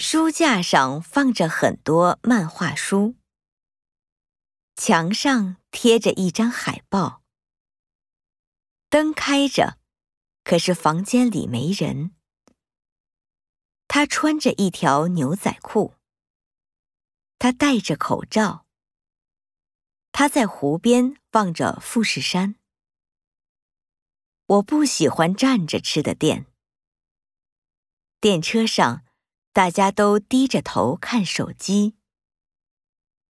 书架上放着很多漫画书，墙上贴着一张海报。灯开着，可是房间里没人。他穿着一条牛仔裤。他戴着口罩。他在湖边望着富士山。我不喜欢站着吃的店。电车上，大家都低着头看手机。